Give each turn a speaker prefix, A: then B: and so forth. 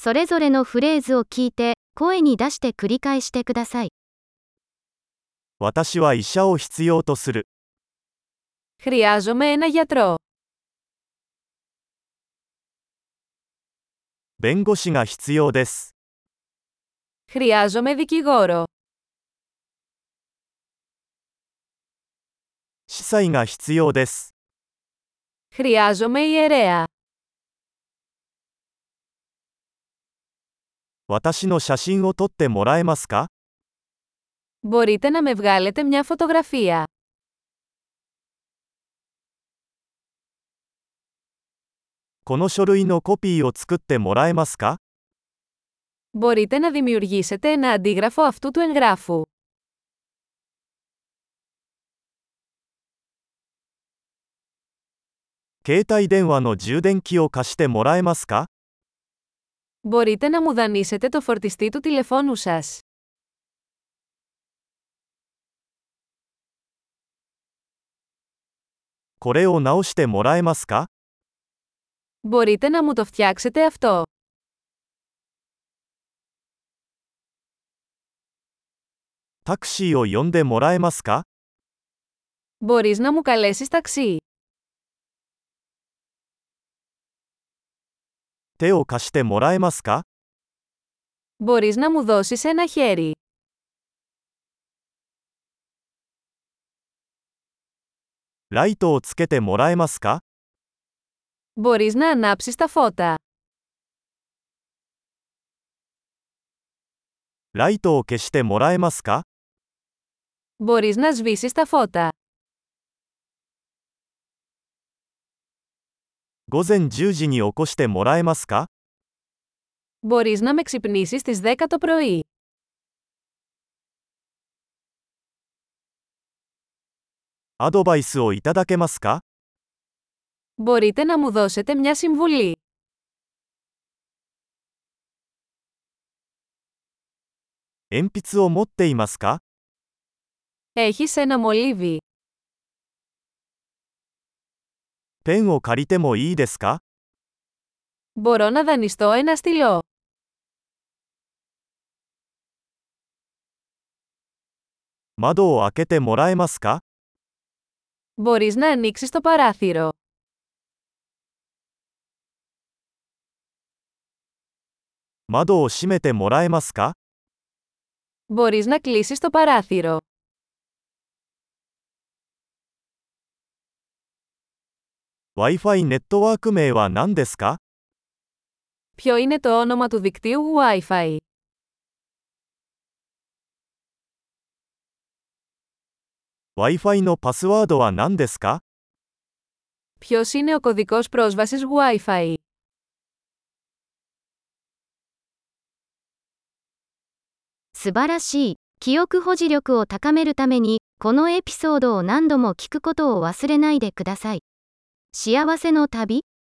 A: それぞれのフレーズを聞いて、声に出して繰り返してください。
B: 私は医者を必要とする。
C: Χρειάζομαι ένα γιατρό.
B: 弁護士が必要です。
C: Χρειάζομαι δικηγόρο.
B: 司祭が必要です。
C: Χρειάζομαι ιερέα.
B: 私の写真を撮ってもらえますか？
C: Μπορείτε να με βγάλετε μια φωτογραφία.
B: この書類のコピーを作ってもらえますか？
C: Μπορείτε να δημιουργήσετε ένα αντίγραφο αυτού του εγγράφου.
B: 携帯電話の充電器を貸してもらえますか？
C: Μπορείτε να μου δανείσετε το φορτιστή του τηλεφώνου σας.
B: これを直してもらえますか？
C: Μπορείτε να μου το φτιάξετε αυτό.
B: タクシーを呼んでもらえますか？
C: Μπορείς να μου καλέσεις ταξί.
B: 手を貸してもらえますか？
C: Μπορείς να μου δώσεις ένα χέρι.
B: ライトをつけてもらえますか？
C: Μπορείς να ανάψεις τα φώτα.
B: ライトを消してもらえますか？
C: Μπορείς να σβήσεις τα φώτα.
B: 午前10時に起こしてもらえますか？
C: Μπορείς να με ξυπνήσεις στις 10 το πρωί.
B: アドバイスをいただけますか？
C: Μπορείτε να μου δώσετε μια συμβουλή.
B: 鉛筆を持っていますか？
C: Έχεις ένα μολύβι.
B: ペンを借りてもいいですか？
C: Μπορώ να δανειστώ ένα στυλό.
B: 窓を開けてもらえますか？
C: Μπορείς να ανοίξεις το παράθυρο.
B: 窓を閉めてもらえますか？
C: Μπορείς να κλείσεις το παράθυρο.
B: Wi-Fi ネットワーク名は何ですか？
C: Ποιο είναι το όνομα του δικτύου Wi-Fi?
B: Wi-Fi のパスワードは何ですか？
C: Ποιος είναι ο κωδικός πρόσβασης Wi-Fi?
A: 素晴らしい。記憶保持力を高めるために、このエピソードを何度も聞くことを忘れないでください。幸せの旅